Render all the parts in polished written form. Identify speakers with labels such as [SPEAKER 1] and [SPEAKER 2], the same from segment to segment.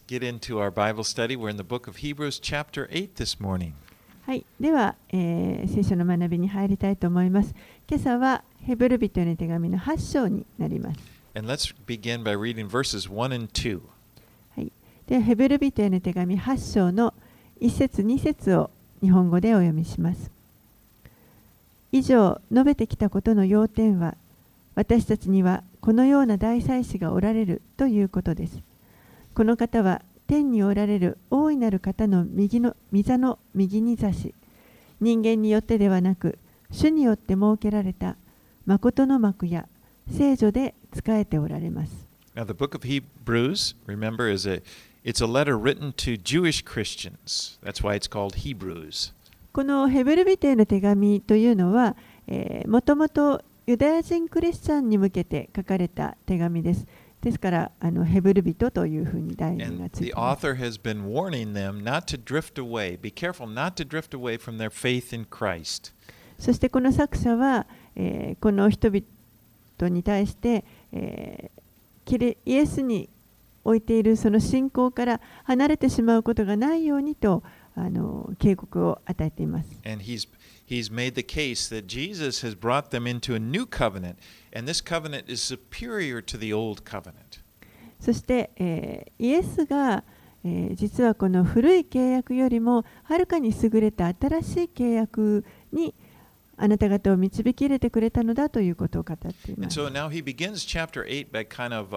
[SPEAKER 1] get into our Bible study. We're in the book of Hebrews, chapter 8 this morning.
[SPEAKER 2] はい、では、聖書の学びに入りたいと思います。今朝はヘブル人への手紙の8章になります。
[SPEAKER 1] And let's begin by reading verses 1 and 2.
[SPEAKER 2] はい、ではヘブル人への手紙8章の1節2節を日本語でお読みします。以上述べてきたことの要点は、私たちにはこのような大祭司がおられるということです。この方は天におられる大いなる方の御座の右に座し、人間によってではなく、主によって設けられた誠の幕や聖女で仕えておられます。
[SPEAKER 1] Now, the book of Hebrews, remember, it's a letter written to Jewish Christians. That's why it's called Hebrews.
[SPEAKER 2] このヘブル人への手紙というのは、もともとユダヤ人クリスチャンに向けて書かれた手紙です。ですからヘブル人というふうに題名がついています。
[SPEAKER 1] The author has been warning them not to drift away. Be careful not to drift away from their faith in Christ.
[SPEAKER 2] そしてこの作者は、この人々に対して、イエスに置いているその信仰から離れてしまうことがないようにと警告を与えています。
[SPEAKER 1] And he's made the case that Jesus has brought them into a new covenant, and this covenant is superior to the old covenant.
[SPEAKER 2] そして、イエスが、実はこの古い契約よりもはるかに優れた新しい契約にあなた方を導き入れてくれたのだということを語っています。
[SPEAKER 1] And so now he begins chapter 8 by kind of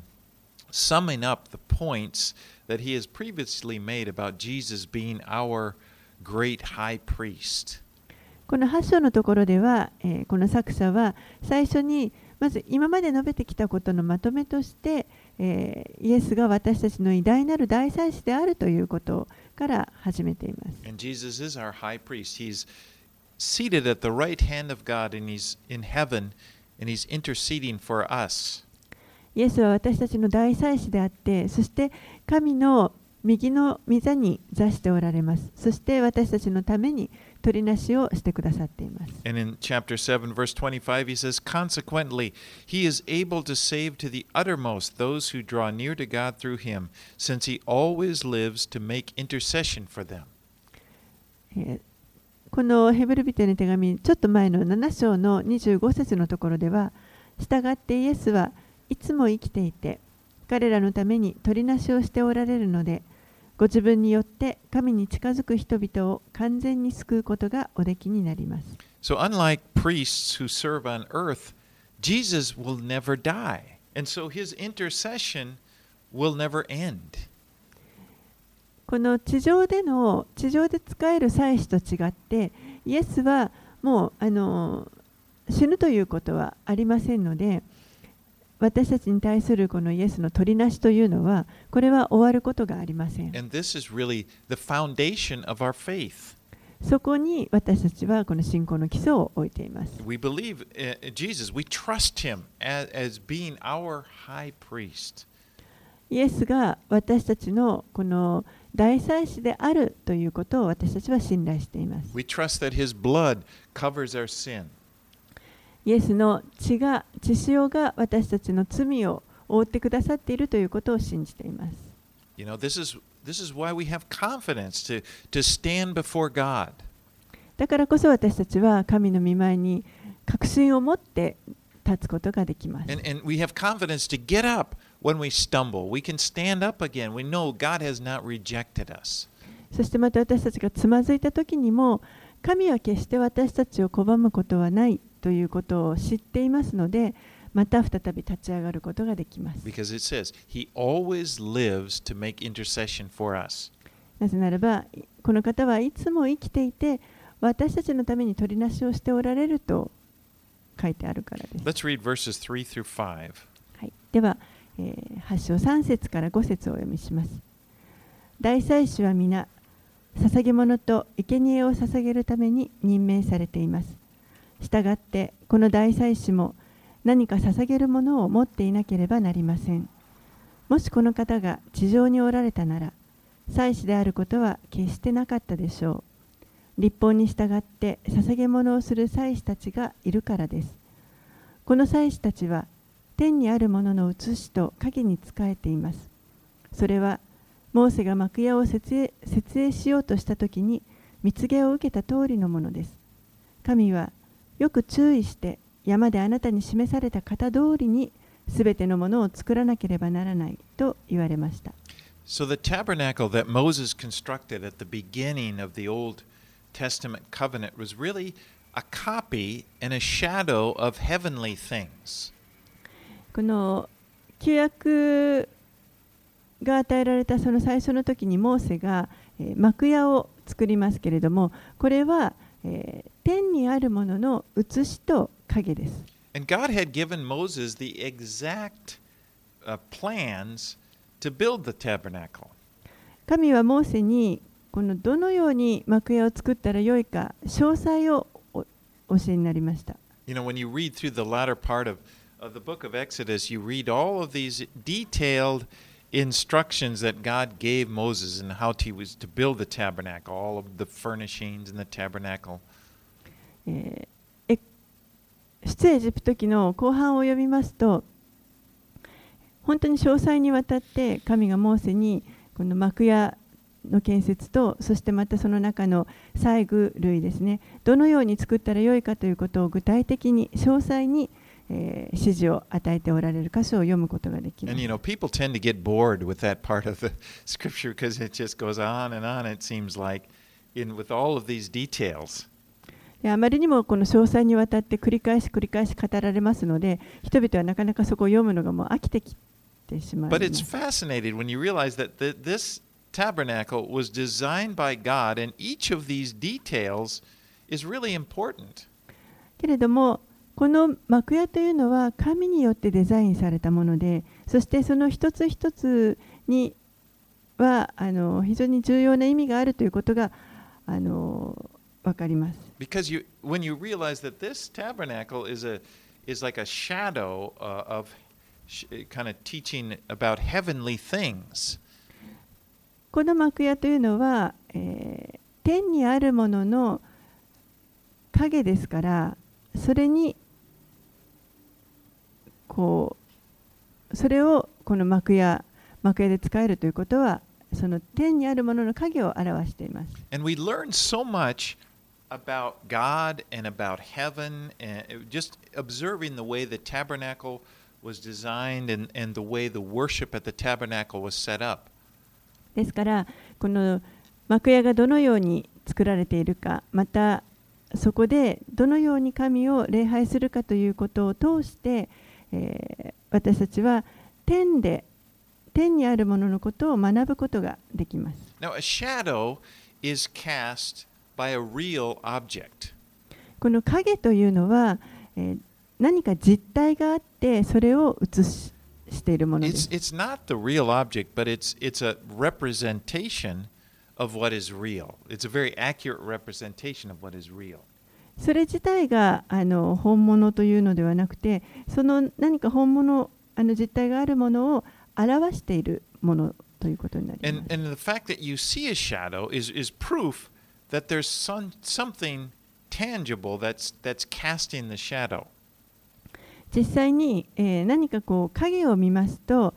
[SPEAKER 1] summing up the points that he has previously made about Jesus being our great high priest.
[SPEAKER 2] この8章のところでは、この作者は最初にまず今まで述べてきたことのまとめとして、イエスが私たちの偉大なる大祭司であるということから始めています。
[SPEAKER 1] And Jesus is our high priest. He's seated at the right hand of God, and he's in heaven, and he's interceding for us.
[SPEAKER 2] イエスは私たちの大祭司であって、そして神の右の御座に座しておられます。そして私たちのために取りなしをしてくださっています。
[SPEAKER 1] And in chapter 7, verse 25, he says, Consequently, he is able to save to the uttermost those who draw near to God through him, since he always lives to make intercession for them.
[SPEAKER 2] このヘブル人への手紙、ちょっと前の7章の25節のところでは、したがってイエスはいつも生きていて、彼らのために取りなしをしておられるので、ご自分によって神に近づく人々を完全に救うことがおできになります。
[SPEAKER 1] So unlike priests who serve on earth, Jesus will never die. And so his intercession will never end.
[SPEAKER 2] この地上で使える祭司と違って、イエスはもう死ぬということはありませんので、私たちに対するこのイエスの取りなしというのは、これは終わることがありません。
[SPEAKER 1] And this is really the foundation of our faith.
[SPEAKER 2] そこに私たちはこの信仰の基礎を置いています。
[SPEAKER 1] We believe in Jesus. We trust him as being our high priest.
[SPEAKER 2] イエスが私たちのこの大祭司であるということを私たちは信頼しています。
[SPEAKER 1] We trust that his blood covers our sin.
[SPEAKER 2] イエスの血潮が私たちの罪を覆ってくださっているということを信じています。
[SPEAKER 1] You know, this is why we have confidence to stand before God.
[SPEAKER 2] だからこそ私たちは神の御前に確信を持って立つことができます。
[SPEAKER 1] And we have confidence to get up when we stumble. We can stand up again. We know God has not rejected us.
[SPEAKER 2] そしてまた私たちがつまずいた時にも、神は決して私たちを拒むことはないということを知っていますので、また再び立ち上がることができます。
[SPEAKER 1] Because it says, He always lives to make intercession for us.
[SPEAKER 2] なぜならば、この方はいつも生きていて、私たちのために取りなしをしておられると書いてあるからです。
[SPEAKER 1] Let's read verses 3 through 5.
[SPEAKER 2] はい、では、8章3節から5節をお読みします。大祭司は皆、捧げ物と生贄を捧げるために任命されています。したがってこの大祭司も何か捧げるものを持っていなければなりません。もしこの方が地上におられたなら、祭司であることは決してなかったでしょう。律法に従って捧げ物をする祭司たちがいるからです。この祭司たちは天にあるものの写しと影に仕えています。それはモーセが幕屋を設営しようとしたときに蜜毛を受けた通りのものです。神はよく注意して山であなたに示された型通りにすべてのものを作らなければならないと言われました。
[SPEAKER 1] So the tabernacle that Moses constructed at the beginning of the Old Testament covenant was really a copy and a shadow of heavenly things.
[SPEAKER 2] この旧約が与えられたその最初の時にモーセが幕屋を作りますけれども、これは天にあるものの写しと影です。
[SPEAKER 1] And God had given Moses the exact plans to build the tabernacle.
[SPEAKER 2] 神はモーセにこのどのように幕屋を作ったらよいか詳細をお教えになりました。
[SPEAKER 1] You know, when you read through the latter part of the book of Exodus, you read all of these detailed instructions that God gave Moses and how he was to build the tabernacle, all of the furnishings in the tabernacle.
[SPEAKER 2] 出エジプト記の後半を読みますと、本当に詳細にわたって神がモーセにこの幕屋の建設と、そしてまたその中の細具類ですね、どのように作ったらよいかということを具体的に詳細に指示を与えておられる箇所を読むことができます。
[SPEAKER 1] And you know, people tend to get bored with that part of the scripture because it just goes on and on, it seems like, with all of these details.
[SPEAKER 2] あまりにもこの詳細にわたって繰り返し語られますので、人々はなかなかそこを読むのがもう飽きてきてしまいます。
[SPEAKER 1] But it's fascinating when you realize that this tabernacle was designed by God and each of these details is really important.
[SPEAKER 2] けれども、この幕屋というのは神によってデザインされたもので、そしてその一つ一つには非常に重要な意味があるということがわかります。
[SPEAKER 1] Because when you realize that this tabernacle is like a shadow of kind of teaching about heavenly things.
[SPEAKER 2] この幕屋というのは、天にあるものの影ですから、それをこの幕屋で使えるということは、その天にあるものの影を表しています。
[SPEAKER 1] And we learn so much about God and about heaven, and just observing the way the tabernacle was designed and the way the worship at the tabernacle was set up.
[SPEAKER 2] ですから、この幕屋がどのように作られているか、またそこでどのように神を礼拝するかということを通して、私たちは天にあるもののことを学ぶことができます。
[SPEAKER 1] Now, a shadow is cast by a real object.
[SPEAKER 2] この影というのは、何か実体があってそれを映しているものです。
[SPEAKER 1] It's not the real object, but it's a representation of what is real. It's a very accurate representation of what is real.
[SPEAKER 2] それ自体が本物というのではなくて、その何か本物実体があるものを表しているものということになります。
[SPEAKER 1] And the fact that you see a shadow is proof that there's something tangible that's casting the shadow.
[SPEAKER 2] 実際に、何か影を見ますと、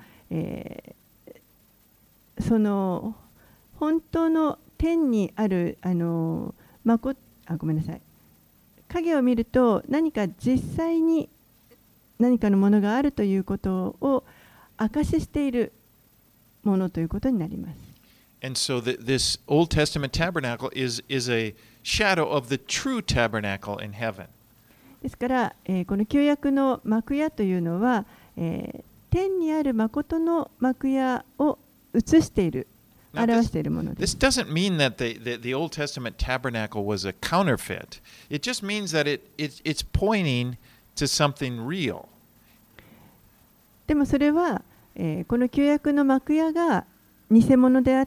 [SPEAKER 2] その本当の天にあるごめんなさい。影を見ると何か実際に何かのものがあるということを証ししているものということになります。
[SPEAKER 1] And so this Old Testament tabernacle is a shadow of the true tabernacle in heaven.
[SPEAKER 2] ですから、この旧約の幕屋というのは、天にある誠の幕屋を映している、表しているものです。
[SPEAKER 1] This doesn't mean that the Old Testament tabernacle was a counterfeit. It just means that it's pointing to something real.
[SPEAKER 2] でもそれは、この旧約の幕屋が偽物であって、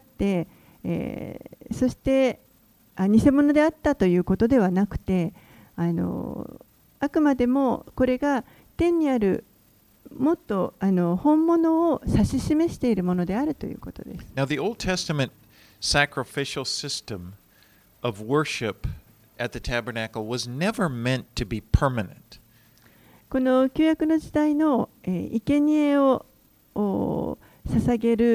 [SPEAKER 2] そして偽物であったということではなくて、あくまでもこれが天にあるもっと本物を指し示しているものであるということです。
[SPEAKER 1] Now, the Old Testament sacrificial system of worship at the tabernacle was never meant to be permanent.
[SPEAKER 2] この旧約の時代の生贄を捧げる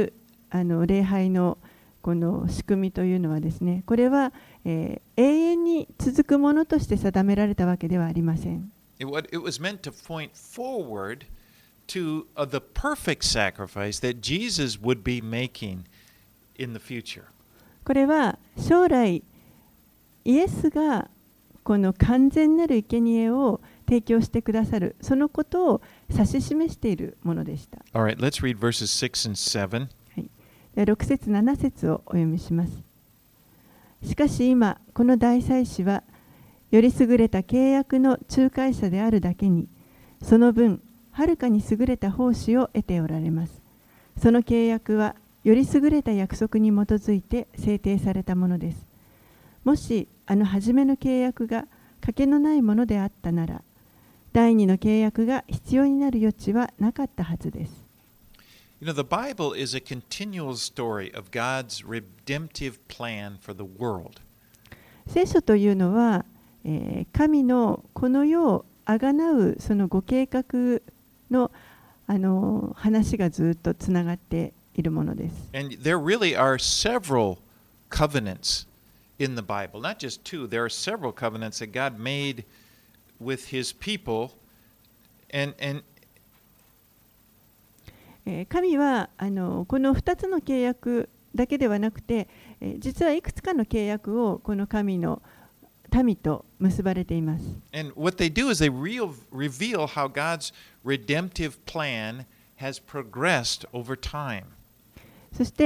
[SPEAKER 2] 礼拝のこの仕組みというのはですね、これは、永遠に続くものとして定められたわけではありません。
[SPEAKER 1] It was meant to point forward to the perfect sacrifice that Jesus would be making in the future.
[SPEAKER 2] これは将来イエスがこの完全なる生贄を提供してくださる、そのことを指し示しているものでした。
[SPEAKER 1] All right, let's read verses 6 and 7.
[SPEAKER 2] 6節7節をお読みします。しかし今この大祭司はより優れた契約の仲介者であるだけに、その分はるかに優れた奉仕を得ておられます。その契約はより優れた約束に基づいて制定されたものです。もし初めの契約がかけのないものであったなら、第二の契約が必要になる余地はなかったはずです。
[SPEAKER 1] You know, the Bible is a continual story of God's redemptive plan for the world.
[SPEAKER 2] 聖書というのは、神のこの世をあがなうそのご計画の、話がずっとつながっているものです。
[SPEAKER 1] And there really are several covenants in the Bible, not just two. There are several covenants that God made with His people, and
[SPEAKER 2] 神はこの2つの契約だけではなくて、実はいくつかの契約をこの神の民と結ばれています。
[SPEAKER 1] And what they do is they reveal how God's redemptive plan has progressed over time.
[SPEAKER 2] そして、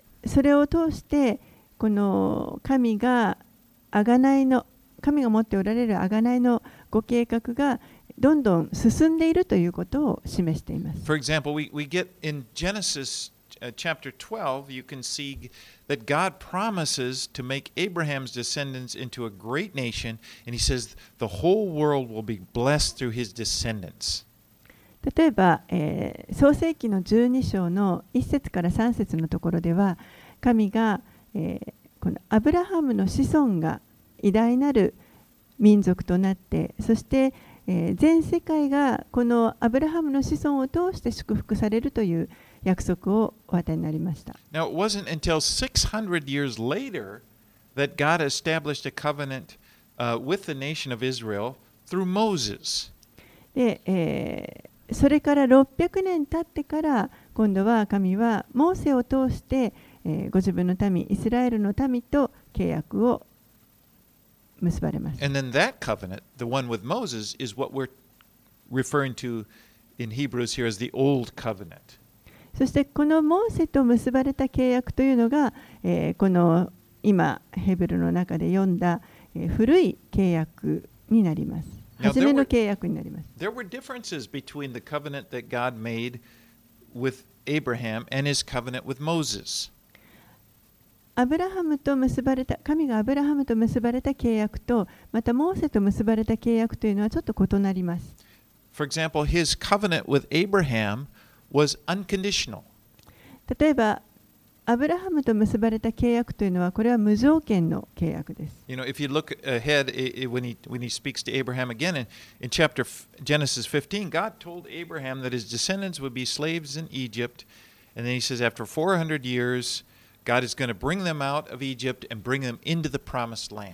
[SPEAKER 2] それを通してこの神が持っておられる贖いのご計画がどんどん進んでいるということを示しています。
[SPEAKER 1] For example, we get in Genesis chapter 12, you can see that God promises to make Abraham's descendants into a great nation, and He says the whole world will be blessed through his descendants.
[SPEAKER 2] 例えば、創世記の12章の1節から3節のところでは、神が、このアブラハムの子孫が偉大なる民族となって、そして全世界がこのアブラハムの子孫を通して祝福されるという約束をお与えになりました。
[SPEAKER 1] Now, it wasn't until 600 years later that God established a covenant with the nation of Israel through Moses.
[SPEAKER 2] で、それから600年経ってから今度は神はモーセを通して、ご自分の民イスラエルの民と契約を結ばれます。
[SPEAKER 1] And then that covenant, the one with Moses, is what we're referring to in Hebrews here as the Old Covenant.
[SPEAKER 2] そしてこのモーセと結ばれた契約というのが、この今ヘブルの中で読んだ、古い契約になります。初めの契約になります。
[SPEAKER 1] There were differences between the covenant that God made with Abraham and his covenant with Moses.
[SPEAKER 2] 神がアブラハムと結ばれた契約と、またモーセと結ばれた契約というのはちょっと異なります。
[SPEAKER 1] For example, his covenant with Abraham was unconditional.
[SPEAKER 2] 例えば、アブラハムと結ばれた契約というのは、これは無条件の契約です。
[SPEAKER 1] You know, if you look ahead when he speaks to Abraham again in chapter Genesis 15, God told Abraham that his descendants would be slaves in Egypt, and then he says after 400 years, God is going to bring them out of Egypt and bring them into the promised land.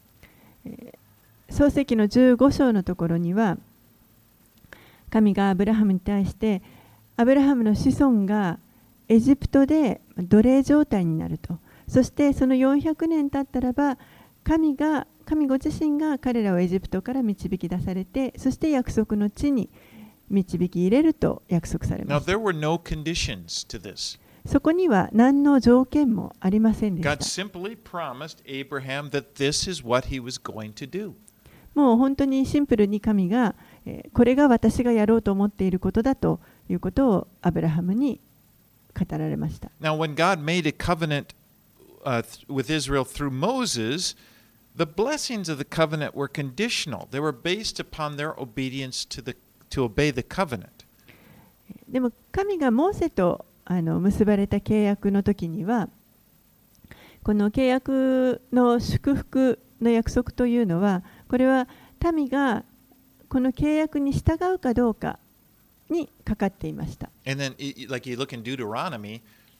[SPEAKER 2] 創世記の15章のところには、神がアブラハムに対して、アブラハムの子孫がエジプトで奴隷状態になると。そしてその400年経ったらば、神ご自身が彼らをエジプトから導き出されて、そして約束の地に導き入れると約束されました。
[SPEAKER 1] Now, there were no conditions to this.
[SPEAKER 2] そこには何の条件もありませんでした。
[SPEAKER 1] God simply promised Abraham that this is what he was going to do.
[SPEAKER 2] もう本当にシンプルに神が、これが私がやろうと思っていることだということをアブラハムに語られました。
[SPEAKER 1] Now, when God made a covenant with Israel through Moses, the blessings of the covenant were conditional. They were based upon their obedience to obey the covenant.
[SPEAKER 2] でも神がモーセと結ばれた契約の時には、この契約の祝福の約束というのは、これは民がこの契約に従うかどうかにかかっていました。
[SPEAKER 1] And then, like you look in Deuteronomy,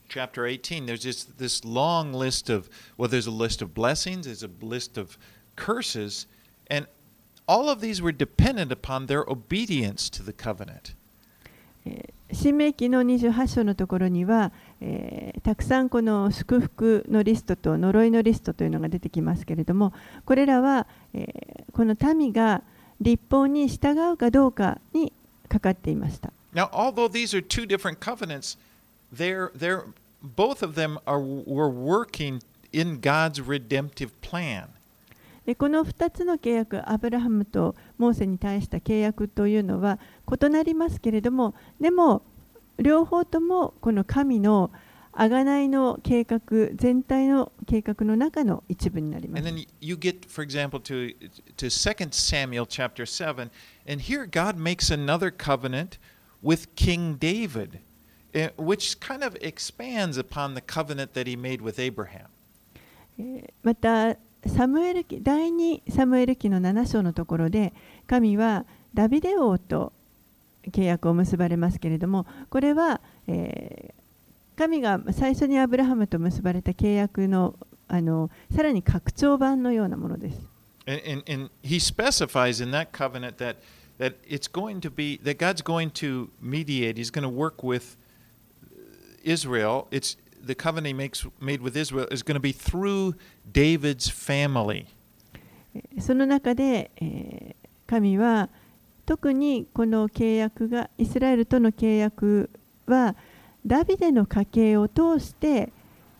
[SPEAKER 1] chapter 18, there's just this long list of, well, there's a list of blessings, there's a list of curses, and all of these were dependent upon their obedience to the covenant.
[SPEAKER 2] 新明記の28章のところには、たくさんこの祝福のリストと呪いのリストというのが出てきますけれども、これらは、この民が律法に従うかどうかにかかっていました。
[SPEAKER 1] Now, although these are two different covenants, both of them were working in God's redemptive plan.
[SPEAKER 2] でこの2つの契約、アブラハムとモーセに対した契約というのは異なりますけれども、でも両方ともこの神の贖いの計画、全体の計画の中の一部になります。
[SPEAKER 1] And then you get, for example, to 2 Samuel chapter 7, and here God makes another covenant with King David, which kind of expands upon the covenant that he made with Abraham.
[SPEAKER 2] また第2サムエル記の7章のところで、神はダビデ王と契約を結ばれますけれども、これは、神が最初にアブラハムと結ばれた契約の、さらに拡張版のようなものです。
[SPEAKER 1] And he specifies in that covenant that it's going to be, that God's going to mediate, he's going to work with Israel. The covenant he made with Israel is going to be through David's family.
[SPEAKER 2] その中で、神は特にこの契約が、イスラエルとの契約はダビデの家系を通して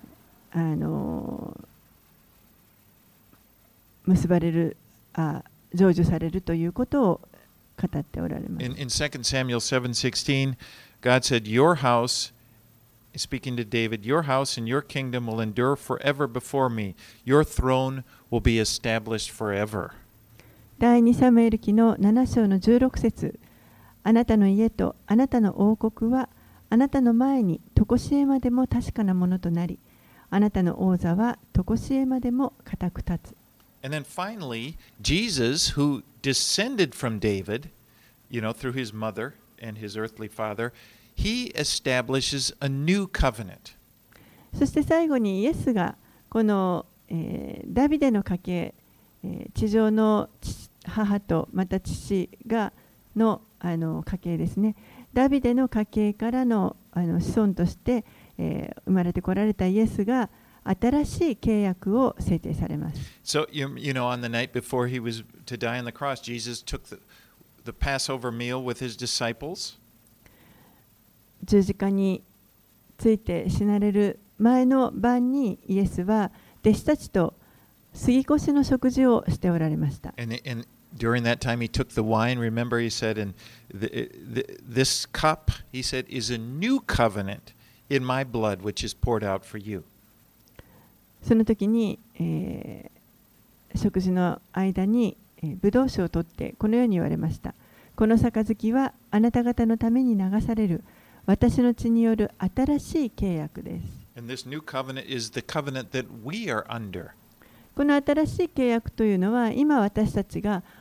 [SPEAKER 2] 結ばれる、成就されるということを語っておられます。
[SPEAKER 1] In 2 Samuel 7:16, God said, "Your house," speaking to David, "Your house and your kingdom will endure forever before me. Your throne will be established forever."
[SPEAKER 2] 第2サムエル記の7章の16節、あなたの家とあなたの王国はあなたの前に常しえまでも確かなものとなり、あなたの王座は常しえまでも固く立つ。
[SPEAKER 1] And then finally, Jesus, who descended from David, through his mother and his earthly father, he establishes a new covenant.
[SPEAKER 2] そして最後にイエスがこの、ダビデの家系、地上の母とまた父の家系ですね。ダビデの家系からの子孫として、生まれてこられたイエスが新しい契約を制定されます。
[SPEAKER 1] So, on the night before he was to die on the cross, Jesus took the Passover meal with his disciples.
[SPEAKER 2] 十字架について死なれる前の晩にイエスは弟子たちと杉越の食事をしておられました。
[SPEAKER 1] And during that time, he took the wine. Remember, he said, "And this cup," he said, "is a new covenant in my blood, which is poured out for you."
[SPEAKER 2] その時に、食事の間に、ブドウ酒を取ってこのように言われました。この杯はあなた方のために流される私の血による新しい契約です。
[SPEAKER 1] And this new covenant is the covenant that we are under.
[SPEAKER 2] この新しい契約というのは今私たちが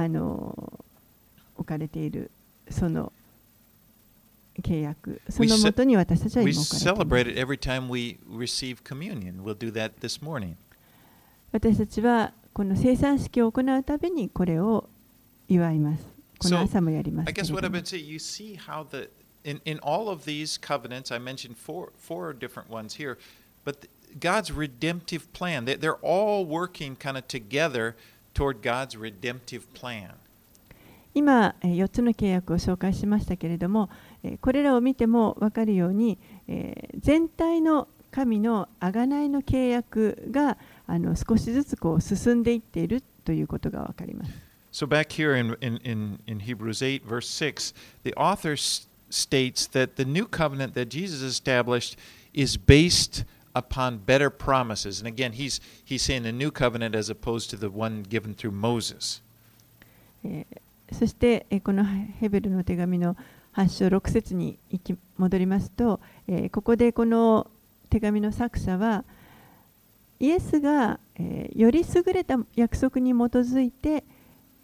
[SPEAKER 2] 置かれているその契約、そのもとに私たちは今置かれています。
[SPEAKER 1] We celebrate it every time we receive communion. We'll do that this morning.
[SPEAKER 2] 私たちはこの聖餐式を行うたびにこれを祝います。この朝もやります。
[SPEAKER 1] I guess what I've been saying, you see how in all of these covenants, I mentioned four different ones here, but God's redemptive plan, they're all working kind of together toward God's redemptive plan.
[SPEAKER 2] 今4つの契約を紹介しましたけれども、これらを見ても分かるように、全体の神の贖いの契約が少しずつこう進んでいっているということが分かります。
[SPEAKER 1] So back here in Hebrews 8, verse 6, the author states that the new covenant that Jesus established is based upon better promises. And again, he's saying a new covenant as opposed to the one given through Moses.
[SPEAKER 2] そしてこのヘブルの手紙の8章6節に戻りますと、ここでこの手紙の作者はイエスがより優れた約束に基づいて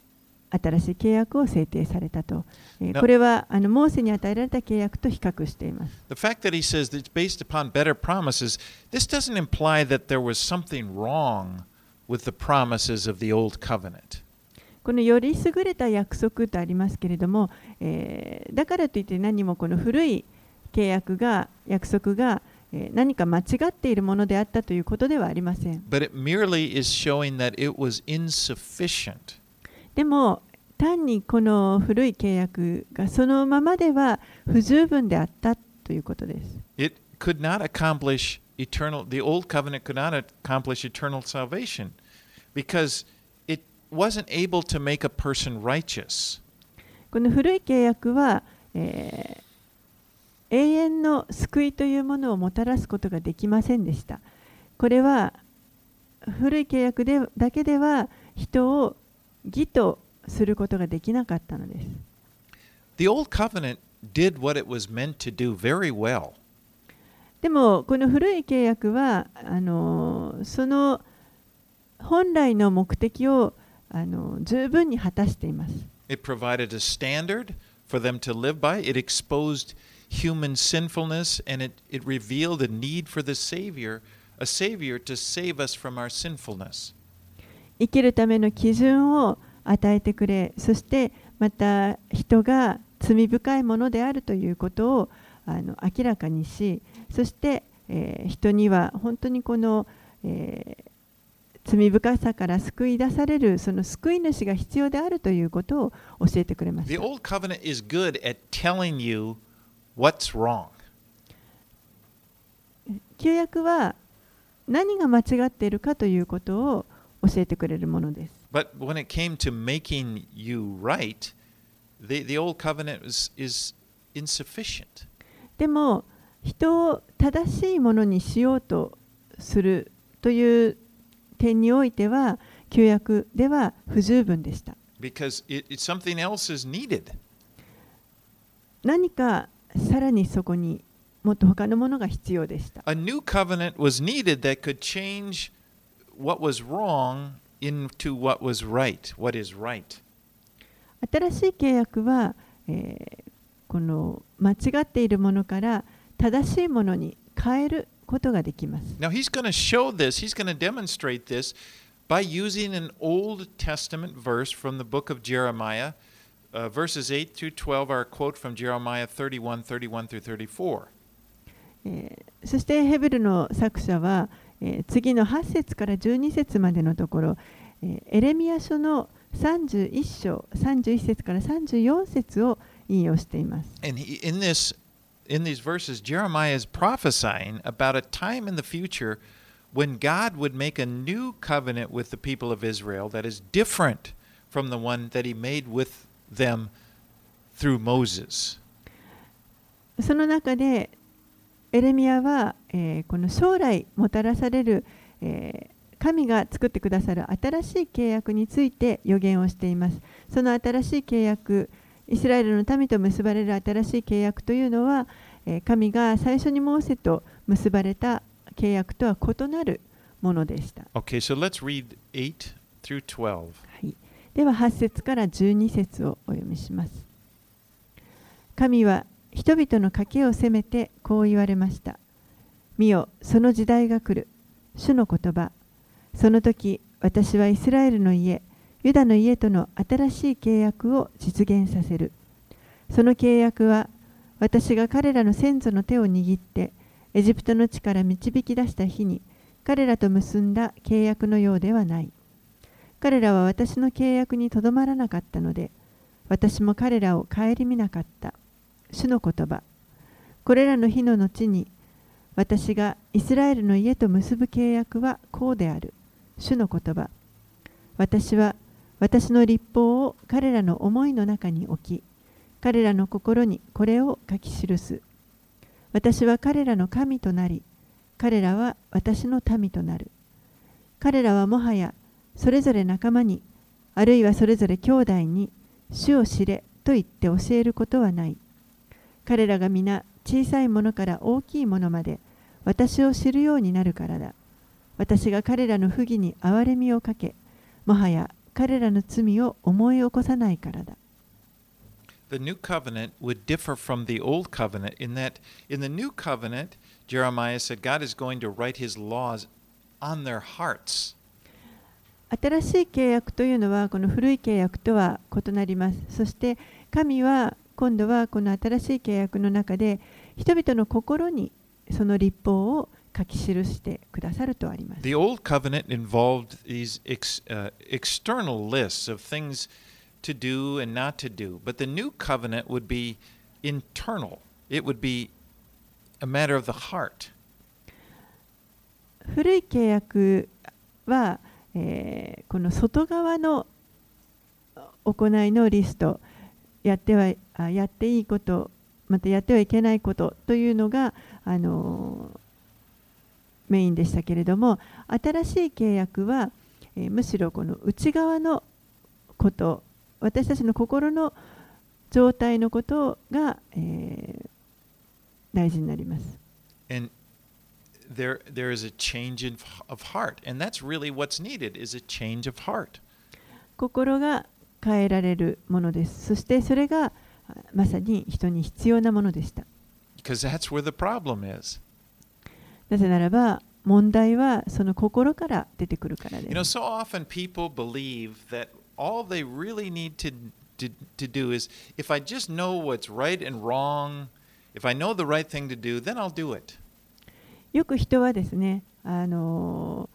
[SPEAKER 2] 新しい契約を制定されたと。これはモーセに与えられた契約と比較しています。
[SPEAKER 1] The fact that he says that it's based upon better promises, this doesn't imply that there was something wrong with the promises of the old covenant.
[SPEAKER 2] このより優れた約束とありますけれども、だからといって何もこの古い約束が何か間違っているものであったということではありません。
[SPEAKER 1] But it merely is showing that it was insufficient.
[SPEAKER 2] でも単にこの古い契約がそのままでは不十分であったということです。
[SPEAKER 1] It could not accomplish the old covenant could not accomplish eternal salvation because it wasn't able to make a person righteous.
[SPEAKER 2] この古い契約は、永遠の救いというものをもたらすことができませんでした。これは古い契約だけでは人を義とすることができなかったのです。
[SPEAKER 1] The old covenant did what it was meant to do very well.
[SPEAKER 2] でもこの古い契約はその本来の目的を十分に果たしています。
[SPEAKER 1] It provided a standard for them to live by. It exposed human sinfulness and it revealed a need for a Savior to save us from our sinfulness.
[SPEAKER 2] 生きるための基準を与えてくれ、そしてまた人が罪深いものであるということを明らかにし、そして、人には本当にこの、罪深さから救い出されるその救い主が必要であるということを教えてくれました。
[SPEAKER 1] The old covenant is good at telling you what's wrong.
[SPEAKER 2] 旧約は何が間違っているかということを教えてくれるものです。
[SPEAKER 1] But when it came to making you right, the old covenant is insufficient.
[SPEAKER 2] でも人を正しいものにしようとするという点においては旧約では不十分でした。
[SPEAKER 1] Because something else is needed.
[SPEAKER 2] 何かさらにそこにもっと他のものが必要でした。
[SPEAKER 1] A new covenant was needed that could change what was wrong into what was right, what is right.
[SPEAKER 2] 新しい契約は、この間違っているものから正しいものに変えることができます。
[SPEAKER 1] Now he's going to show this, he's going to demonstrate this by using an Old Testament verse from the book of Jeremiah. Verses 8 through 12 are a quote from Jeremiah 31, 31 through 34.
[SPEAKER 2] そしてヘブルの作者は、次の8節から12節までのところ、エレミヤ書の31章31節から34節を引用しています。
[SPEAKER 1] And in these verses, Jeremiah is prophesying about a time in the future when God would make a new covenant with the people of Israel that is different from the one that he made with them through Moses.
[SPEAKER 2] その中でエレミヤは、この将来もたらされる、神が作ってくださる新しい契約について予言をしています。その新しい契約、イスラエルの民と結ばれる新しい契約というのは、神が最初にモーセと結ばれた契約とは異なるものでした。
[SPEAKER 1] Okay, so let's read 8 through 12.
[SPEAKER 2] はい、では8節から12節をお読みします。神は人々の賭けを責めてこう言われました。見よ、その時代が来る。主の言葉。その時、私はイスラエルの家、ユダの家との新しい契約を実現させる。その契約は、私が彼らの先祖の手を握って、エジプトの地から導き出した日に、彼らと結んだ契約のようではない。彼らは私の契約にとどまらなかったので、私も彼らを顧みなかった。主の言葉。これらの日の後に、私がイスラエルの家と結ぶ契約はこうである。主の言葉。私は私の律法を彼らの思いの中に置き、彼らの心にこれを書き記す。私は彼らの神となり、彼らは私の民となる。彼らはもはやそれぞれ仲間に、あるいはそれぞれ兄弟に、主を知れと言って教えることはない。彼らが皆小さいものから大きいものまで私を知るようになるからだ。私が彼らの不義に憐れみをかけ、もはや彼らの罪を思い起こさないからだ。
[SPEAKER 1] The new covenant would differ from the old covenant in that in the new covenant, Jeremiah said God is going to write his laws on their hearts.
[SPEAKER 2] 新しい契約というのはこの古い契約とは異なります。そして神は今度はこの新しい契約の中で人々の心にその律法を書き記してくださるとあります。
[SPEAKER 1] The old covenant involved these external lists of things to do and not to do, but the new covenant would be internal. It would be a matter of the heart.
[SPEAKER 2] 古い契約はこの外側の行いのリスト、やっていいこと、またやってはいけないことというのがメインでしたけれども、新しい契約は、むしろこの内側のこと、私たちの心の状態のことが、大事になります。
[SPEAKER 1] And there is a change of heart, and that's really what's needed is a change of heart.
[SPEAKER 2] 心が変えられるものです。そしてそれがまさに人に必要なものでした。
[SPEAKER 1] Because that's where the problem is.
[SPEAKER 2] なぜならば問題はその心から出てくるからです。
[SPEAKER 1] You know, so often people believe that all they really need to do is if I just know what's right and wrong, if I know the right thing to do, then I'll do it.
[SPEAKER 2] よく人はですね、も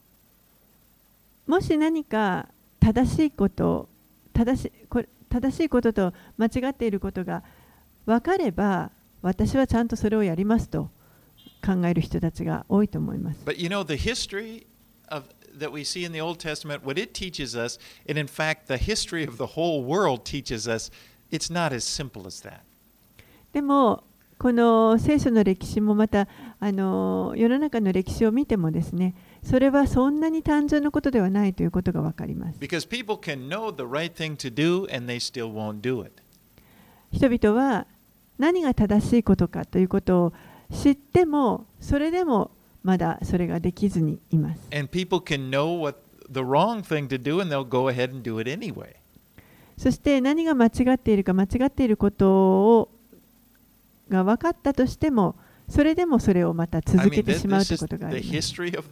[SPEAKER 2] し何か正しいことと間違っていることが分かれば、私はちゃんとそれをやりますと考える人たちが多いと思います。
[SPEAKER 1] But you know, the history that we see in the Old Testament, what it teaches us, and in fact, the history of the whole world teaches us, it's not as simple as that.
[SPEAKER 2] でもこの聖書の歴史もまた世の中の歴史を見てもですね、それはそんなに単純なことではないということが分かります。
[SPEAKER 1] Because people can know the right thing to do and they still won't do it.
[SPEAKER 2] 人々は何が正しいことかということを知っても、それでもまだそれができずにいます。
[SPEAKER 1] And people can know what the wrong thing to do and they'll go ahead and do it anyway.
[SPEAKER 2] そして何が間違っているか、間違っていることが分かったとしても、それでもそれをまた続けてしまうということがあります。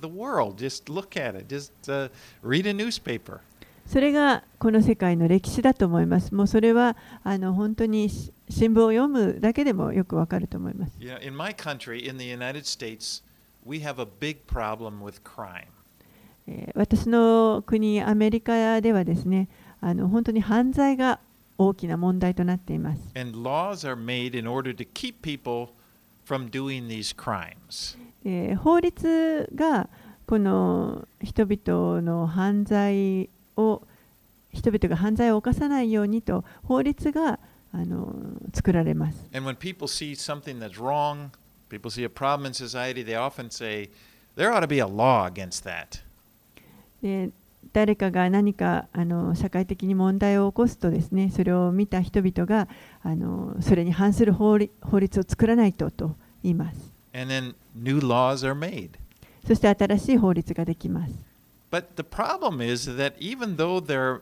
[SPEAKER 2] それがこの世界の歴史だと思います。もうそれは本当に新聞を読むだけでもよくわかると思います。
[SPEAKER 1] In my country, in the United States, we have a big problem with crime.
[SPEAKER 2] 私の国、アメリカではですね、本当に犯罪が大きな問題となっています。
[SPEAKER 1] And laws are made in order to keep people from doing these crimes.
[SPEAKER 2] 法律がこの人々が犯罪を犯さないようにと法律が作られます。
[SPEAKER 1] And when people see something that's wrong, people see a problem in society, they often say there ought to be a law against that.
[SPEAKER 2] 誰かが何か社会的に問題を起こすとですね、それを見た人々がそれに反する法律を作らないと言います。
[SPEAKER 1] And then new laws are made.
[SPEAKER 2] そして新しい法律ができます。
[SPEAKER 1] But the problem is that even though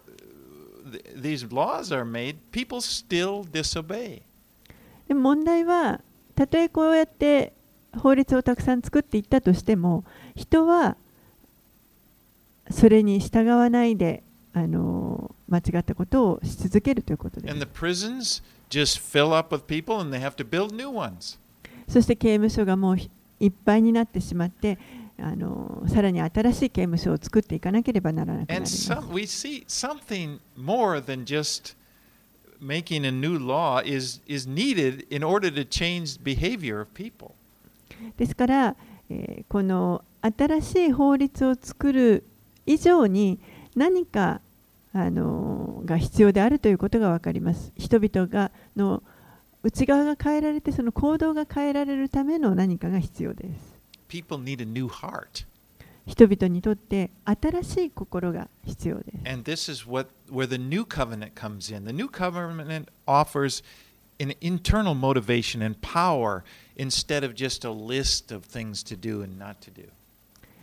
[SPEAKER 1] these laws are made, people still disobey.
[SPEAKER 2] でも問題は、たとえこうやって法律をたくさん作っていったとしても、人はそれに従わないで間違ったことをし続けるということです。
[SPEAKER 1] And the prisons just fill up with people and they have to build new ones.
[SPEAKER 2] そして刑務所がもういっぱいになってしまって、さらに新しい刑務所を作っていかなければならなくなります。
[SPEAKER 1] And we see something more than just making a new law is needed in order to change behavior of people.
[SPEAKER 2] ですから、この新しい法律を作る以上に何かが必要であるということが分かります。人々の内側が変えられて、その行動が変えられるための何かが必要です。
[SPEAKER 1] People need a new heart.
[SPEAKER 2] 人々にとって新しい心が必要です。
[SPEAKER 1] And this is where the new covenant comes in. The new covenant offers an internal motivation and power instead of just a list of things to do and not to do.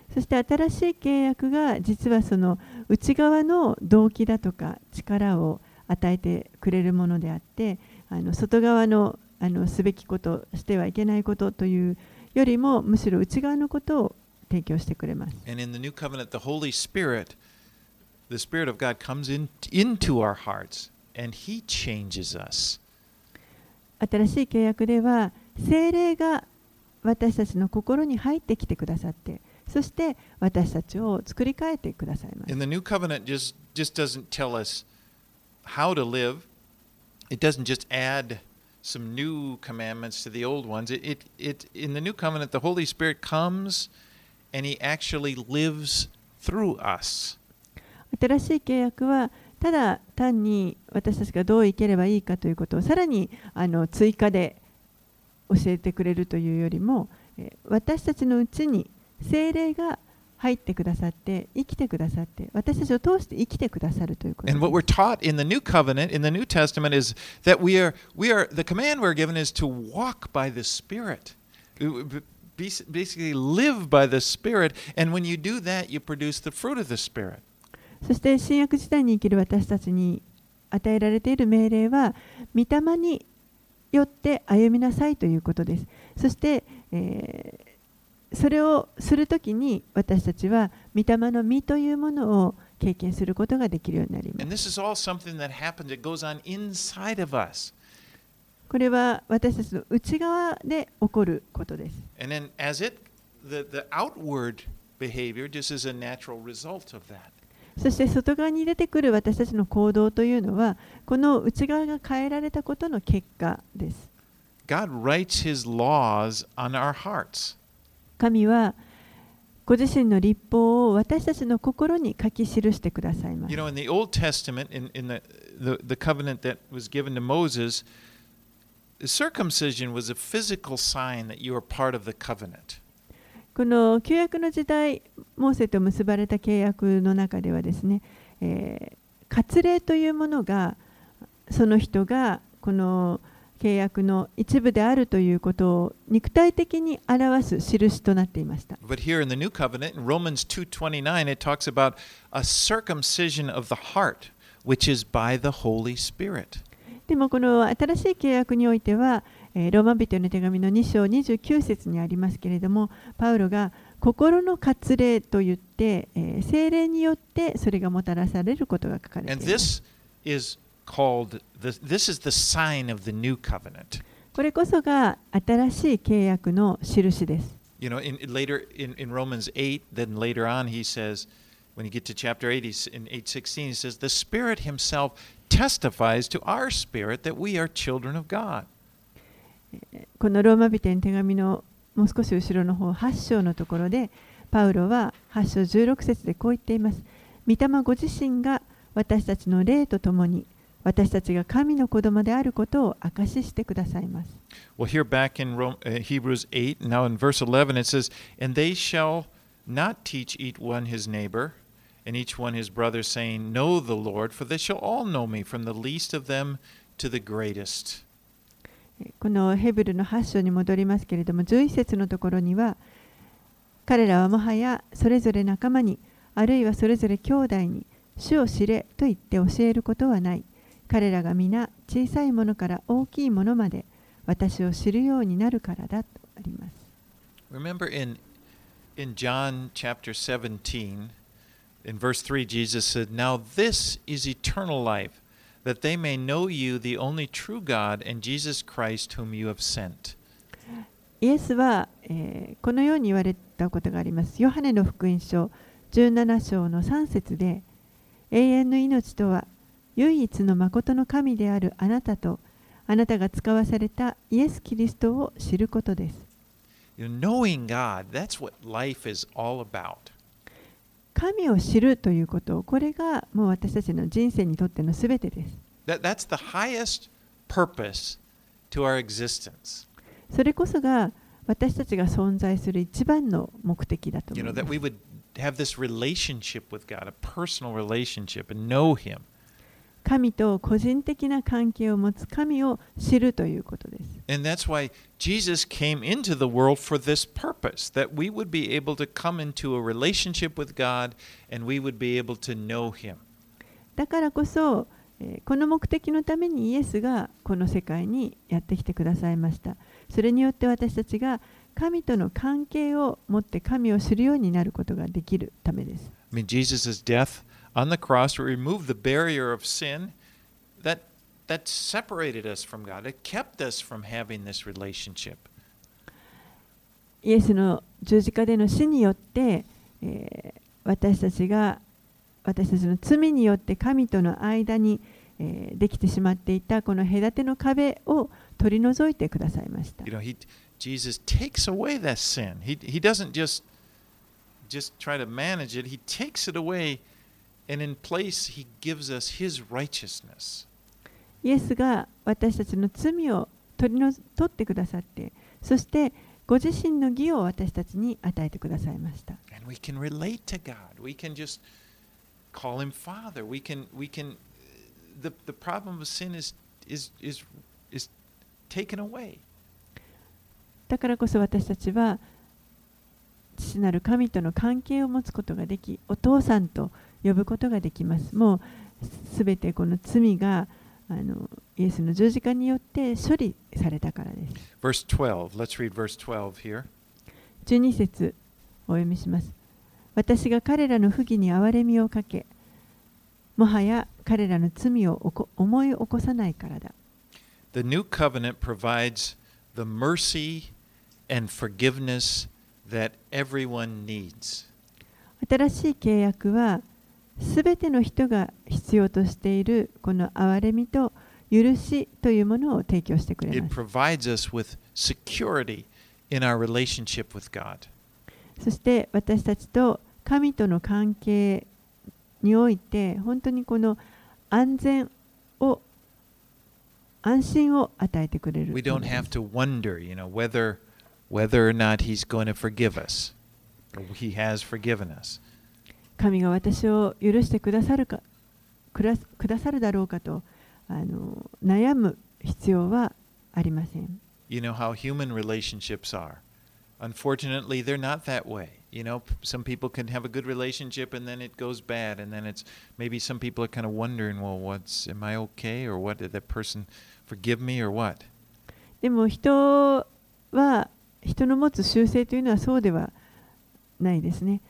[SPEAKER 2] そして新しい契約が実はその内側の動機だとか力を与えてくれるものであって、外側のすべきこと、してはいけないことというよりも、むしろ内側のことを提供してくれます。
[SPEAKER 1] And in the new covenant, the Holy Spirit, the Spirit of God comes into our hearts, and He changes us.
[SPEAKER 2] 新しい契約では、聖霊が私たちの心に入ってきてくださって、そして私たちを作り変えてくださいます。
[SPEAKER 1] And the new covenant just doesn't tell us how to live. It doesn't just add some new commandments to the old ones. In the new covenant, the Holy Spirit comes and He actually lives through us.
[SPEAKER 2] 新しい契約はただ単に私たちがどう生きればいいかということをさらに追加で教えてくれるというよりも、私たちのうちに聖霊が入ってくださって生きてくださって私たちを通して生きてくださるということです。
[SPEAKER 1] And what we're taught in the new covenant, in the New Testament, is that the command we're given is to walk by the Spirit. Basically live by the Spirit, and when you do that, you produce the fruit of the Spirit.
[SPEAKER 2] そして新約時代に生きる私たちに与えられている命令は御霊によって歩みなさいということです。そして、それをするときに私たちは御霊の実というものを経験することができるようになります。
[SPEAKER 1] And this is all something that happens, that goes on inside of us.
[SPEAKER 2] これは私たちの内側で起こることです。
[SPEAKER 1] And then the outward behavior just is a natural result of that.
[SPEAKER 2] そして外側に出てくる私たちの行動というのはこの内側が変えられたことの結果です。
[SPEAKER 1] God writes His laws on our hearts.
[SPEAKER 2] 神はご自身の律法を私たちの心に書き記してくださいます。
[SPEAKER 1] You know, in the Old Testament, in the covenant that was given to Moses, circumcision was a physical sign that you were part of the covenant.
[SPEAKER 2] この旧約の時代、モーセと結ばれた契約の中ではですね、割礼というものがその人がこの契約の一部であるということを肉体的に表す印となっていました。
[SPEAKER 1] But here in the new covenant, in Romans 2:29, it talks about a circumcision of the heart, which is by the Holy Spirit.
[SPEAKER 2] でもこの新しい契約においては、ローマ人への手紙の2章29節にありますけれども、パウロが心の割礼といって、聖霊によってそれがもたらされることが書かれています。
[SPEAKER 1] This is the sign of the new covenant.
[SPEAKER 2] これこそが新しい契約の印です。
[SPEAKER 1] You know, later in Romans 8, then later on he says, when you get to chapter 8, in 8:16, he says, the Spirit Himself testifies to our spirit that we are children of God.
[SPEAKER 2] このローマ人への手紙のもう少し後ろの方8章のところでパウロは8章16節でこう言っています。御霊ご自身が私たちの霊とともに私たちが神の子供であることを証ししてくださいます。
[SPEAKER 1] Well, here back in Hebrews 8, now in verse 11, it says, And they shall not teach each one his neighbor, and each one his brother, saying, Know the Lord, for they shall all know me, from the least of them to the greatest.
[SPEAKER 2] このヘブルの8章に戻りますけれども、11節のところには、彼らはもはやそれぞれ仲間に、あるいはそれぞれ兄弟に、主を知れと言って教えることはない。彼らが皆小さいものから大きいものまで私を知るようになるからだとあります。
[SPEAKER 1] Remember in John chapter 17, in verse 3, Jesus said, Now this is eternal life, that they may know you, the only true God, and Jesus Christ, whom you have sent.
[SPEAKER 2] イエスは、このように言われたことがあります。ヨハネの福音書17章の3節で、永遠の命とは、唯一の誠の神であるあなたと、あなたが使わされたイエス・キリストを知ることです。
[SPEAKER 1] Knowing God, that's what life is all about.
[SPEAKER 2] 神を知るということ、これがもう私たちの人生にとってのすべてです。
[SPEAKER 1] That's the highest purpose to our existence.
[SPEAKER 2] それこそが私たちが存在する一番の目的だと思います。
[SPEAKER 1] That we would have this relationship with God, a personal relationship, and know Him.
[SPEAKER 2] 神と個人的な関係を持つ神を知るということです。
[SPEAKER 1] And that's why Jesus came into the world for this purpose, that we would be able to come into a relationship with God and we would be able to know Him.
[SPEAKER 2] だからこそ、この目的のためにイエスがこの世界にやってきてくださいました。それによって私たちが神との関係を持って神を知るようになることができるためです。
[SPEAKER 1] I mean, Jesus' death on the cross removed the barrier of sin that separated us from God. It kept us from having this relationship.
[SPEAKER 2] イエスの十字架での死によって、私たちの罪によって神との間に、できてしまっていたこの隔ての壁を取り除いてくださいました。
[SPEAKER 1] You know, Jesus takes away that sin. He doesn't just try to manage it. He takes it away, and in place, He gives us His righteousness.
[SPEAKER 2] イエスが私たちの罪を取ってくださって、そしてご自身の義を私たちに与えてくださいました。
[SPEAKER 1] And we can relate to God. We can just call Him Father. The problem of sin is taken away.
[SPEAKER 2] だからこそ私たちは父なる神との関係を持つことができ、お父さんと呼ぶことができます。もうすべてこの罪がイエスの十字架によって処理されたからです。
[SPEAKER 1] Verse 12. Let's read verse 12 here.
[SPEAKER 2] 12節お読みします。私が彼らの不義に憐れみをかけ、もはや彼らの罪を思い起こさないからだ。
[SPEAKER 1] The new covenant provides the mercy and forgiveness that everyone needs.
[SPEAKER 2] 新しい契約はすべての人が必要としているこの憐れみと許しというものを提供してくれま
[SPEAKER 1] It
[SPEAKER 2] す。
[SPEAKER 1] provides us with security in our relationship with God.
[SPEAKER 2] そして私たちと神との関係において本当にこの安心を与えてくれる。
[SPEAKER 1] We don't have to wonder, whether or not He's going to forgive us. He has forgiven us.
[SPEAKER 2] 神が私を許してくださるだろうかと悩む必要はありません。
[SPEAKER 1] You know how human relationships are. Unfortunately, they're not that way. Some people can have a good relationship and then it goes bad, and then maybe some people are kind of wondering, well, am I okay, or what, did that person forgive me, or what?
[SPEAKER 2] でも人の持つ習性というのはそうではないですね。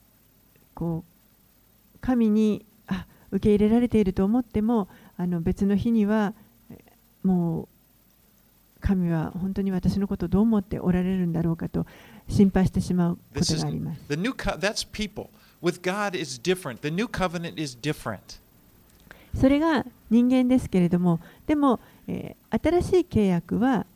[SPEAKER 2] 神に受け入れられていると思っても別の日にはもう神は本当に私のことをどう思っておられるんだろうかと心配してしまうことがあります。
[SPEAKER 1] That's people. With God is different. The new covenant is different.
[SPEAKER 2] それが人間ですけれども、でも、新しい契約は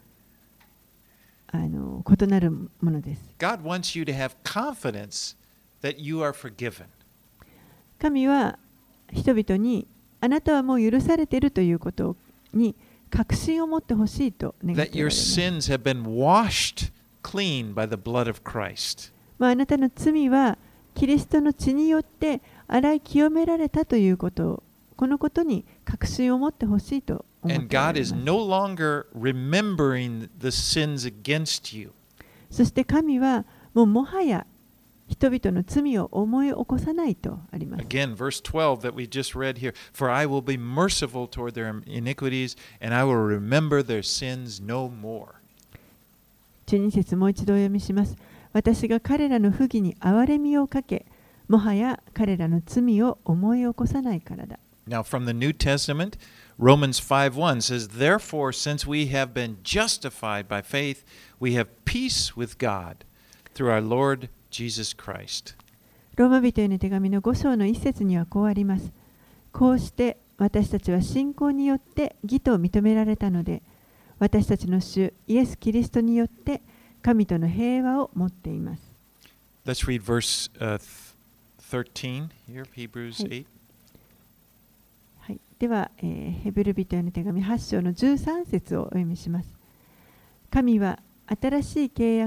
[SPEAKER 2] 異なるものです。
[SPEAKER 1] God wants you to have confidence that you are forgiven.
[SPEAKER 2] 神は人々にあなたはもう許されているということに確信を持ってほしいと願っておられます。
[SPEAKER 1] That your sins have been washed clean by the blood of Christ.
[SPEAKER 2] あなたの罪はキリストの血によって洗い清められたということこのことに確信を持ってほしいと思っておら
[SPEAKER 1] And
[SPEAKER 2] れ
[SPEAKER 1] God
[SPEAKER 2] ます。
[SPEAKER 1] is no longer remembering the sins against you.
[SPEAKER 2] そして神はもはや人々の罪を思い起こさないとあります。
[SPEAKER 1] Again, verse 12 that we just read here. For I will be merciful toward their iniquities, and I will remember their sins no more.
[SPEAKER 2] 12節もう一度お読みします。私が彼らの不義に憐れみをかけ、もはや彼らの罪を思い起こさないからだ。
[SPEAKER 1] Now, from the New Testament, Romans 5:1 says, Therefore, since we have been justified by faith, we have peace with God through our Lord Jesus Christ.
[SPEAKER 2] ローマ人への手紙の5章の一節にはこうあります。こうして私たちは信仰によって義と認められたので、私たちの主イエス・キリストによって神との平和を持っています。
[SPEAKER 1] Let's read verse 13 here, Hebrews 8.
[SPEAKER 2] はい、では、ヘブル人への手紙8章の13節をお読みします。神は新しい契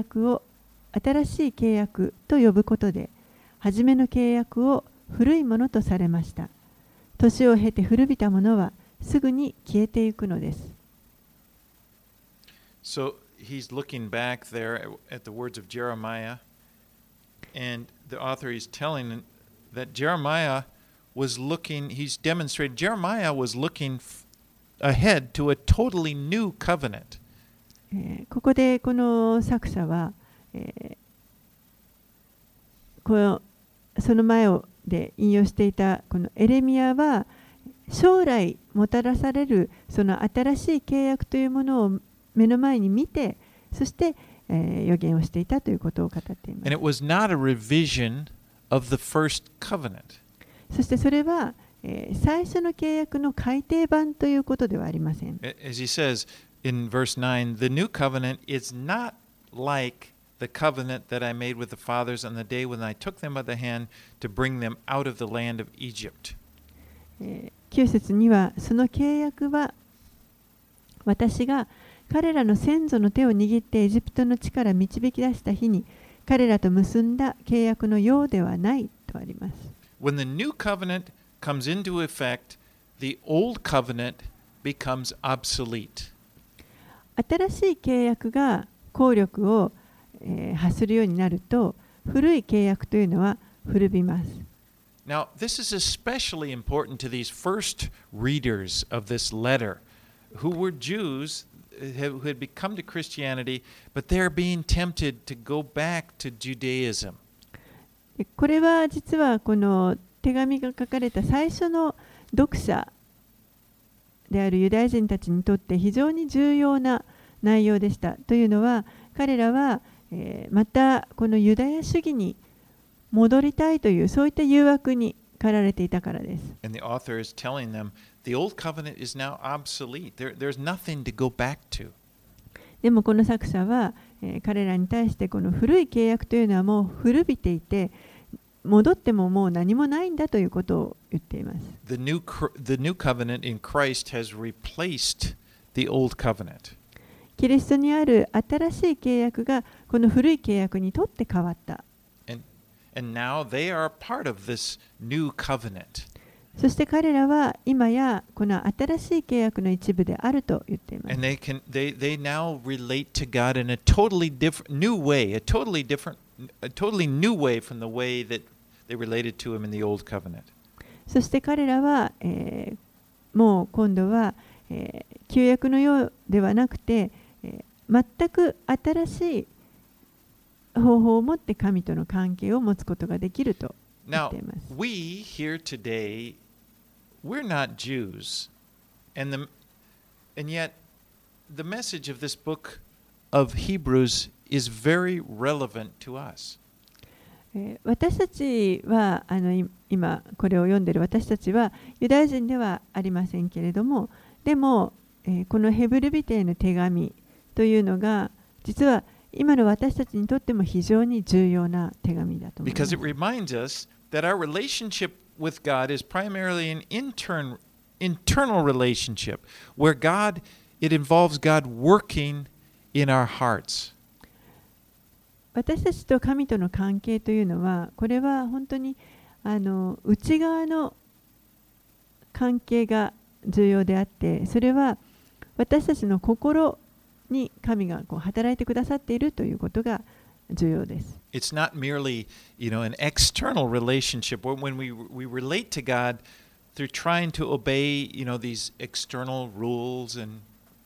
[SPEAKER 2] 約と呼ぶことで、初めの契約を古いものとされました。 年を経て古びたものはすぐに消えていくのです。
[SPEAKER 1] So he's looking back there at the words of Jeremiah, and the author is telling that Jeremiah was looking, he's demonstrated, Jeremiah was looking ahead to a totally new covenant.
[SPEAKER 2] ここでこの作者は、その前で引用していたこのエレミヤは将来もたらされるその新しい契約というものを目の前に見て、そして、予言をしていたということを語っています。
[SPEAKER 1] And it was not a revision of the first covenant.
[SPEAKER 2] そしてそれは、最初の契約の改訂版ということではありません。
[SPEAKER 1] As he says in verse 9, the new covenant is not like the covenant that I made with the fathers on the day when I took them by the hand to bring them out of the land of Egypt.
[SPEAKER 2] 9節には、その契約は私が彼らの先祖の手を握ってエジプトの地から導き出した日に彼らと結んだ契約のようではないとあります。
[SPEAKER 1] When the new covenant comes into effect, the old covenant becomes obsolete.
[SPEAKER 2] 新しい契約が効力を、発するようになると、古い契約というのは古びます。
[SPEAKER 1] Now, this is especially important to these first readers of this letter, who were Jews who had become to Christianity, but they're being tempted to go back to Judaism.
[SPEAKER 2] これは実はこの手紙が書かれた最初の読者であるユダヤ人たちにとって非常に重要な内容でした。というのは彼らは、またこのユダヤ主義に戻りたいというそういった誘惑に駆られていたからです。
[SPEAKER 1] And the author is telling them the old covenant is now obsolete. There's nothing to go back to.
[SPEAKER 2] でもこの作者は、彼らに対してこの古い契約というのはもう古びていて戻ってももう何もないんだということを言っています。
[SPEAKER 1] The new covenant in Christ has replaced the old covenant.
[SPEAKER 2] キリストにある新しい契約がこの古い契約にとって変わった。
[SPEAKER 1] And now they are part of this new covenant.
[SPEAKER 2] そして彼らは今やこの新しい契約の一部であると言っています。
[SPEAKER 1] And they now relate to God in a totally different new way, a totally new way from the way that they related to him in the old covenant.
[SPEAKER 2] そして彼らは、もう今度は、旧約のようではなくて、全く新しい方法を持って神との関係を持つことができると言っています。
[SPEAKER 1] Now, we here today, we're not Jews, and yet the message of this book of Hebrews is very relevant to us.
[SPEAKER 2] 私たちは今これを読んでいる私たちはユダヤ人ではありませんけれども、でも、このヘブル人への手紙というのが実は今の私たちにとっても非常に重要な手紙だと思います。
[SPEAKER 1] Because it reminds us that our relationship with God is primarily an internal relationship where it involves God working in our hearts.
[SPEAKER 2] 私たちと神との関係というのは、これは本当に内側の関係が重要であって、それは私たちの心に神が働いてくださっているということが重要です。
[SPEAKER 1] It's not merely, an external relationship when we relate to God through trying to obey, these external rules and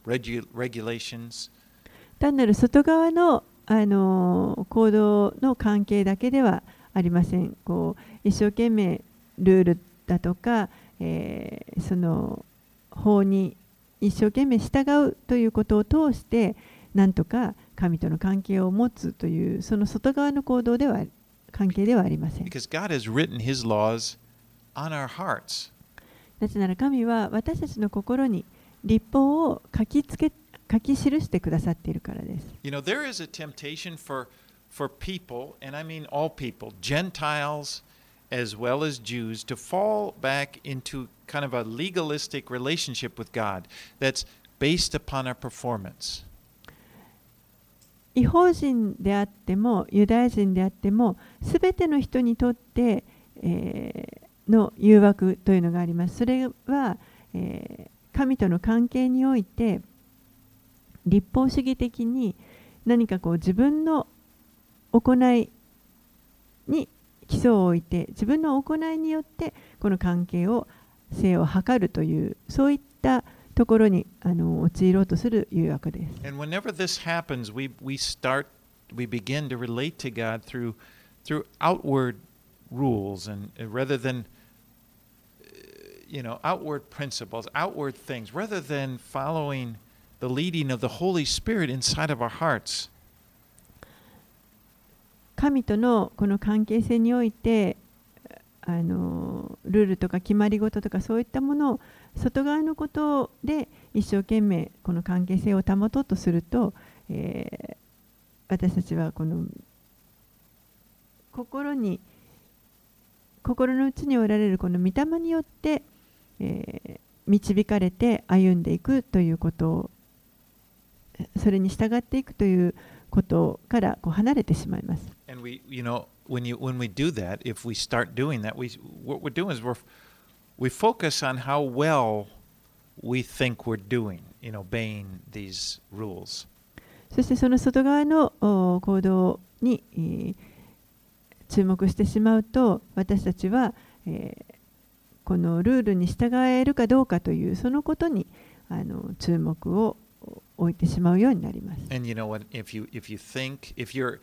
[SPEAKER 1] regulations.
[SPEAKER 2] 単なる外側の行動の関係だけではありません。一生懸命ルールだとか、その法に一生懸命従うということを通してなんとか神との関係を持つというその外側の行動では関係ではありません。
[SPEAKER 1] Because God has written His laws on our hearts.
[SPEAKER 2] なぜなら神は私たちの心に律法を書き記してくださっているからです。
[SPEAKER 1] There is a temptation for people, and I mean all people, Gentiles as well as Jews, to fall back into kind of a legalistic relationship with God that's based upon our performance.
[SPEAKER 2] 異邦人であってもユダヤ人であってもすべての人にとって、 の誘惑というのがあります。それは、神との関係において立法主義的に何かこう自分の行いに基礎を置いて、自分の行いによってこの関係を性を図るという、そういったところに陥ろうとする誘惑です。
[SPEAKER 1] And whenever this happens, we begin to relate to God through outward rules, and rather than outward principles, outward things, rather than following the leading of the Holy Spirit inside of our hearts.
[SPEAKER 2] 神とのこの関係性においてルールとか決まり事とかそういったものを外側のことで一生懸命この関係性を保とうとすると、私たちはこの心の内におられるこの御霊によって、導かれて歩んでいくということを、それに従っていくということからこう離れてしまいます。
[SPEAKER 1] And when we do that, if we start doing that, what we're doing is we focus on how well we think we're doing in obeying these rules.
[SPEAKER 2] そしてその外側の行動に、注目してしまうと、私たちは、このルールに従えるかどうかというそのことに注目を置いてしまうようになります。
[SPEAKER 1] And you know what? If your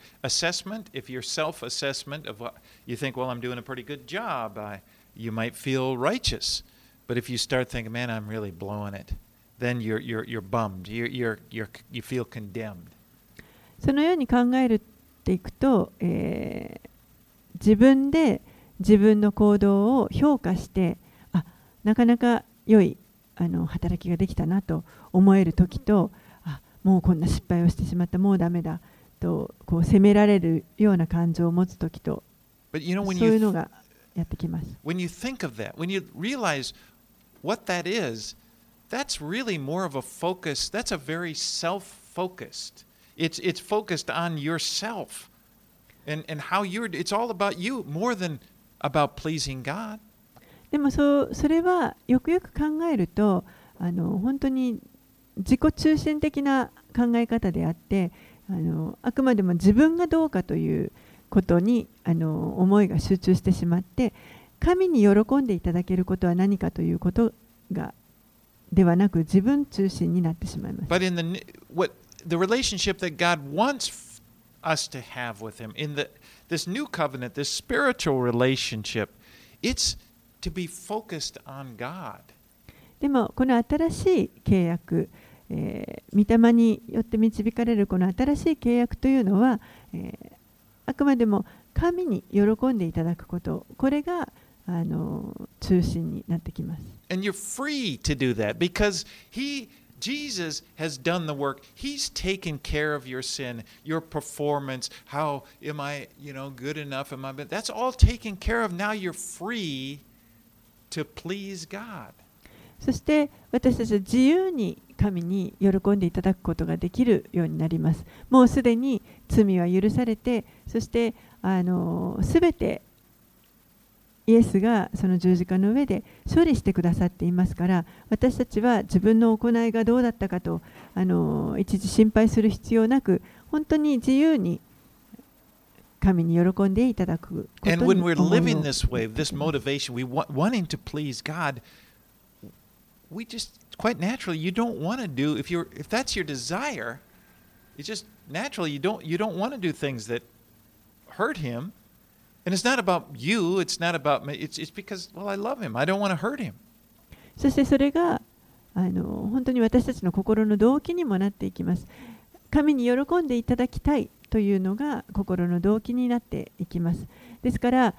[SPEAKER 1] self-assessment of what you think, well, I'm doing a pretty good job, you might feel righteous. But if you start thinking, man, I'm really blowing it, then you're bummed. You feel condemned.
[SPEAKER 2] そのように考えていくと、自分で自分の行動を評価して、なかなか良い働きができたなと思えるときと、もうこんな失敗をしてしまった、もうダメだとこう責められるような感情を持つときと、そういうのがやってきます。
[SPEAKER 1] When you think of that, when you realize what that is, that's really more of a focus. That's a very self-focused. It's focused on yourself and how it's all about you more than about pleasing God.
[SPEAKER 2] でもそれはよくよく考えると本当に自己中心的な考え方であって、あくまでも自分がどうかということに思いが集中してしまって、神に喜んでいただけることは何かということではなく、自分中心になってしまいます。
[SPEAKER 1] But in the relationship that God wants us to have with Him, in this new covenant, this spiritual relationship, it's to be focused on God.
[SPEAKER 2] でもこの新しい契約、御霊によって導かれるこの新しい契約というのは、あくまでも神に喜んでいただくこと、これが中心になってきます。
[SPEAKER 1] And you're free to do that because Jesus has done the work. He's taken care of your sin, your performance. How am I, good enough? That's all taken care of. Now you're free to please God.
[SPEAKER 2] そして私たちは自由に神に喜んでいただくことができるようになります。もうすでに罪は許されて、そしてすべてイエスがその十字架の上で処理してくださっていますから、私たちは自分の行いがどうだったかと一時心配する必要なく、本当に自由に神に喜んでいただくことに思いを。
[SPEAKER 1] And when we're living this way, this motivation, wanting to please God, we just quite naturally you don't want to do if that's your desire, it's just naturally you don't want to do things that hurt Him. And it's not about you, it's not about me, it's because, well, I love Him. I don't want to hurt Him.
[SPEAKER 2] そしてそれが本当に私たちの心の動機にもなっていきます。神に喜んでいただきたいというのが心の動機になっていきます。ですから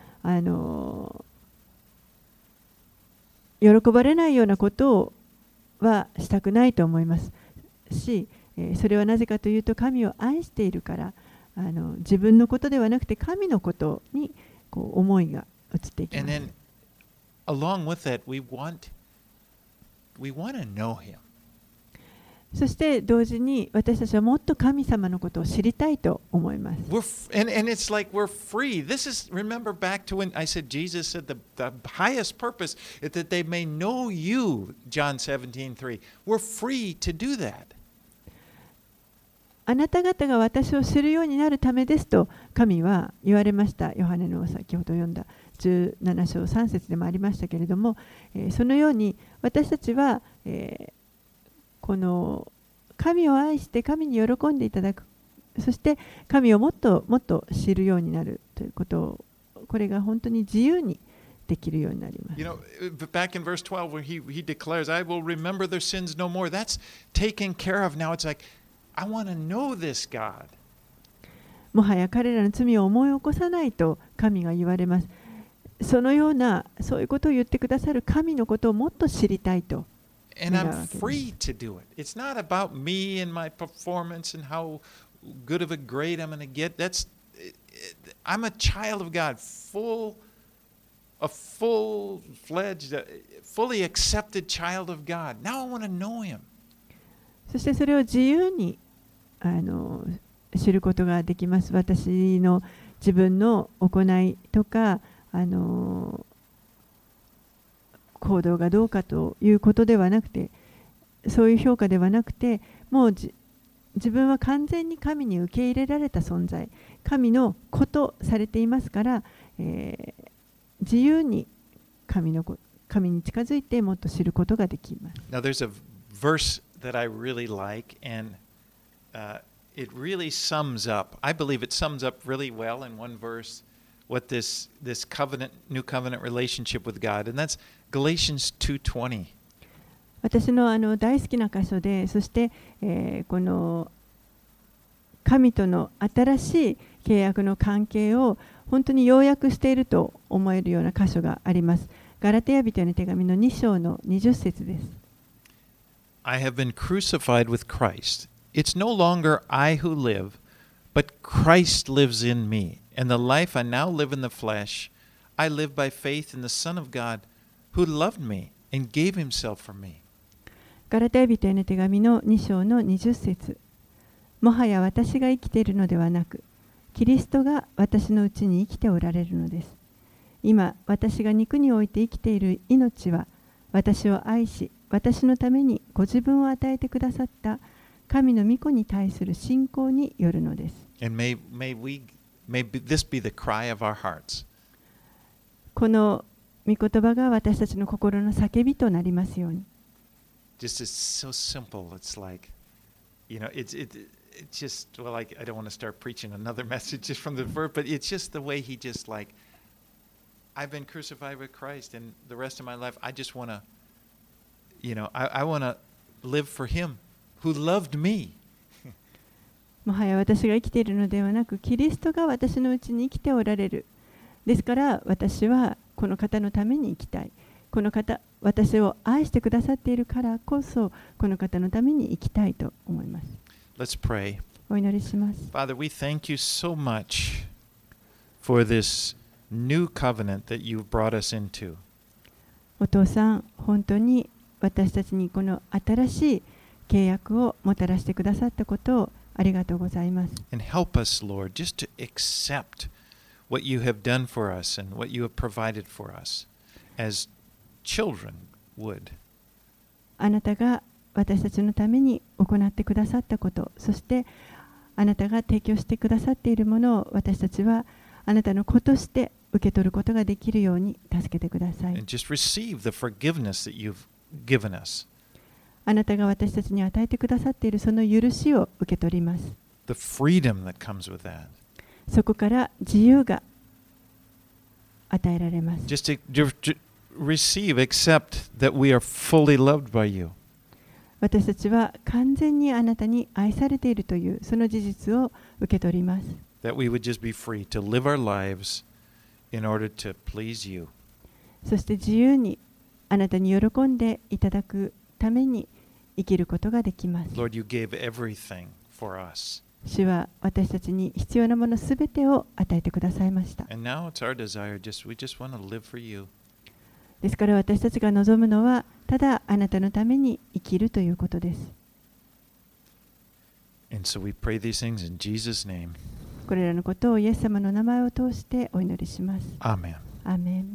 [SPEAKER 2] 喜ばれないようなことはしたくないと思いますし、それはなぜかというと神を愛しているから、自分のことではなくて神のことにこう思いが移っていきます。
[SPEAKER 1] And then along with that, we want to know Him.
[SPEAKER 2] そして同時に私たちはもっと神様のことを知りたいと思います。
[SPEAKER 1] And it's like we're free. This is, remember back to when I said Jesus said the highest purpose is that they may know you, John 17:3. We're free to do that.
[SPEAKER 2] あなた方が私を知るようになるためですと神は言われました。ヨハネの先ほど読んだ17章3節でもありましたけれども、そのように私たちは、この神を愛して神に喜んでいただく、そして神をもっともっと知るようになるということを、これが本当に自由にできるようになります。
[SPEAKER 1] You know, back in verse 12 where he declares, I will remember their sins no more. That's taken care of. Now it's like, I want to know this God.
[SPEAKER 2] もはや彼らの罪を思い起こさないと神が言われます。そのような、そういうことを言ってくださる神のことをもっと知りたいと。
[SPEAKER 1] And I'm free to do it. It's not about me and my performance and how good of a grade I'm going to get. I'm a child of God, a full-fledged, fully accepted child of God. Now I want to know Him.
[SPEAKER 2] そしてそれを自由に知ることができます。私の自分の行いとか行動がどうかということではなくて、そういう評価ではなくて、もう自分は完全に神に受け入れられた存在、神のことされていますから、自由に神に近づいてもっと知ることができます。
[SPEAKER 1] Now there's a verse that I really like, and it really sums up. I believe it sums up really well in one verse what this covenant, new covenant relationship with God, and that's Galatians 2:20.
[SPEAKER 2] 私の大好きな箇所で、そして、この神との新しい契約の関係を本当に要約していると思えるような箇所があります。ガラテヤ人への手紙の2章の20節です。
[SPEAKER 1] I have been crucified with Christ. It's no longer I who live, but Christ lives in me. And the life I now live in the flesh, I live by faith in the Son of God who loved me and gave himself for me.
[SPEAKER 2] ガラテヤ人への手紙の2章の20節。もはや私が生きているのではなく、キリストが私のうちに生きておられるのです。今、私が肉において生きている命は、私を愛し、私のためにご自分を与えてくださった神の御子に対する信仰によるのです。
[SPEAKER 1] And may this be the cry of our hearts.
[SPEAKER 2] この御言葉が私たちの心の叫びとなりますように。
[SPEAKER 1] Just it's so simple. It's like, you know, it's just, well, I don't want to start preaching another message just from the verse, but it's just the way he just like, I've been crucified with Christ, and the rest of my life, I just want to, you know, I want to live for him who loved me.
[SPEAKER 2] もはや私が生きているのではなく、キリストが私のうちに生きておられる。ですから私はこの方のために生きたい。この方、私を愛してくださっているからこそ、この方のために生きたいと思います。
[SPEAKER 1] Let's pray.
[SPEAKER 2] お祈りします。
[SPEAKER 1] Father, we thank you so much for this new covenant that you've brought us into.
[SPEAKER 2] お父さん、本当に私たちにこの新しい契約をもたらしてくださったことをありがとうございます。
[SPEAKER 1] And help us, Lord, just to accept what you have done for us and what you have provided for us as children would.
[SPEAKER 2] あなたが私たちのために行ってくださったこと、そしてあなたが提供してくださっているものを私たちはあなたの子として受け取ることができるように助けてください。
[SPEAKER 1] And just receive the forgiveness that you've given us.
[SPEAKER 2] あなたが私たちに与えてくださっているその許しを受け取ります。
[SPEAKER 1] The freedom that comes with that.
[SPEAKER 2] そこから自由が与えられます。
[SPEAKER 1] Just to receive, accept that we are fully loved by you.
[SPEAKER 2] 私たちは完全にあなたに愛されているというその事実を受け取ります。
[SPEAKER 1] That we would just be free to live our lives in order to please you.
[SPEAKER 2] そして自由にあなたに喜んでいただくために生きることができます。
[SPEAKER 1] Lord, you gave everything for us.
[SPEAKER 2] 主は私たちに必要なものすべてを与えてくださいました。
[SPEAKER 1] And now it's our desire, we just want to live for you.
[SPEAKER 2] ですから私たちが望むのはただあなたのために生きるということです。
[SPEAKER 1] And so we pray these things in Jesus' name.
[SPEAKER 2] これらのことをイエス様の名前を通してお祈りします。
[SPEAKER 1] Amen.
[SPEAKER 2] アーメン。